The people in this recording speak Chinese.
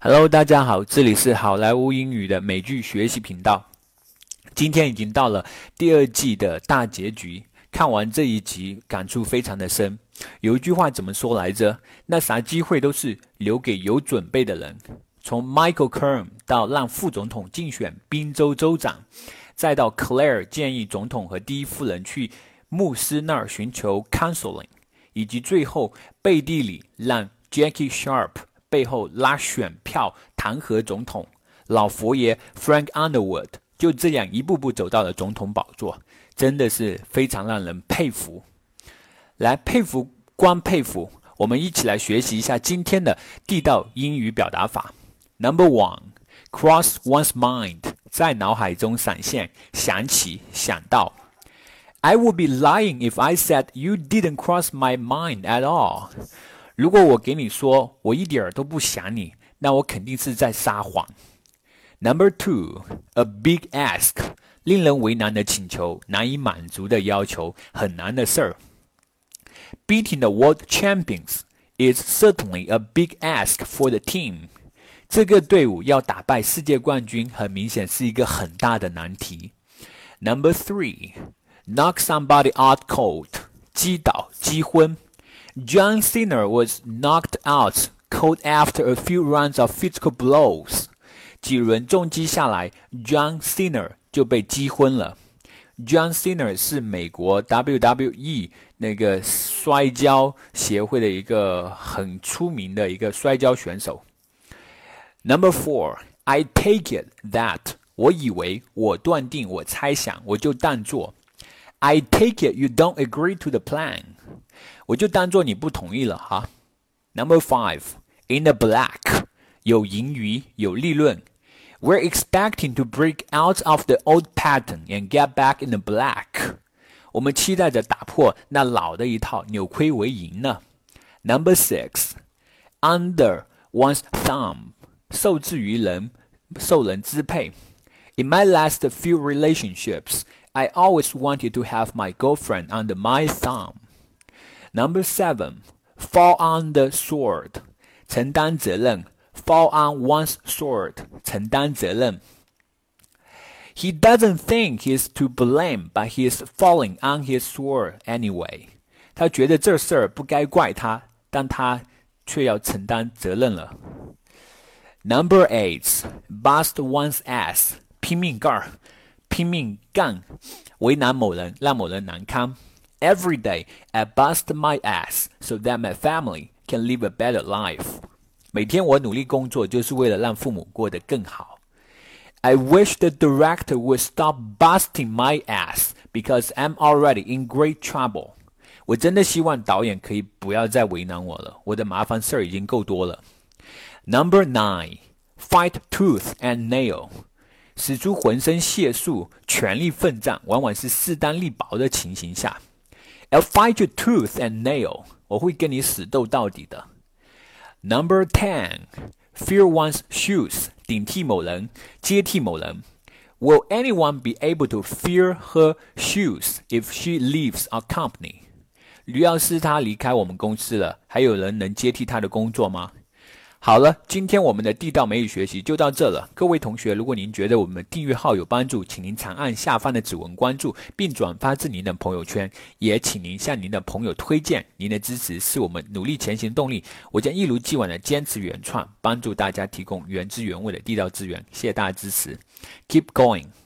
Hello， 大家好，这里是好莱坞英语的美剧学习频道。今天已经到了第二季的大结局，看完这一集感触非常的深。有一句话怎么说来着？那啥机会都是留给有准备的人。从 Michael Kern 到让副总统竞选宾州州长，再到 Claire 建议总统和第一夫人去牧师那儿寻求 counseling， 以及最后背地里让 Jackie Sharp背后拉选票弹劾总统，老佛爷 Frank Underwood 就这样一步步走到了总统宝座，真的是非常让人佩服。来佩服光佩服，我们一起来学习一下今天的地道英语表达法。Number 1 Cross one's mind 在脑海中闪现，想起，想到。I would be lying if I said you didn't cross my mind at all。如果我给你说我一点都不想你，那我肯定是在撒谎。Number 2 A big ask 令人为难的请求，难以满足的要求，很难的事儿。Beating the world champions is certainly a big ask for the team。这个队伍要打败世界冠军，很明显是一个很大的难题。Number 3 Knock somebody out cold 击倒，击昏。John Cena was knocked out cold after a few rounds of physical blows。几轮重击下来 ，John Cena 就被击昏了。John Cena 是美国 WWE 那个摔跤协会的一个很出名的一个摔跤选手。Number 4 I take it that 我以为，我断定，我猜想，我就当作。I take it you don't agree to the plan。我就当作你不同意了哈。Number 5 In the black 有盈余，有利润。We're expecting to break out of the old pattern and get back in the black。我们期待着打破那老的一套，扭亏为盈呢。Number 6 Under one's thumb 受制于人，受人支配。In my last few relationships, I always wanted to have my girlfriend under my thumb。Number 7 Fall on the sword 承担责任。Fall on one's sword 承担责任。He doesn't think he's to blame, but he's falling on his sword anyway。他觉得这事儿不该怪他，但他却要承担责任了。Number 8 Bust one's ass 拼命干，拼命干，为难某人，让某人难堪。Every day, I bust my ass so that my family can live a better life。每天我努力工作，就是为了让父母过得更好。I wish the director would stop busting my ass because I'm already in great trouble。我真的希望导演可以不要再为难我了，我的麻烦事儿已经够多了。Number 9 Fight tooth and nail。使出浑身解数，全力奋战，往往是势单力薄的情形下。I'll fight you tooth and nail。我会跟你死斗到底的。Number 10 Fill one's shoes 顶替某人，接替某人。Will anyone be able to fill her shoes if she leaves our company？ 要是她离开我们公司了，还有人能接替她的工作吗？好了，今天我们的地道美语学习就到这了。各位同学，如果您觉得我们订阅号有帮助，请您长按下方的指纹关注，并转发至您的朋友圈，也请您向您的朋友推荐。您的支持是我们努力前行动力。我将一如既往的坚持原创，帮助大家提供原汁原味的地道资源。谢谢大家支持 ，Keep going。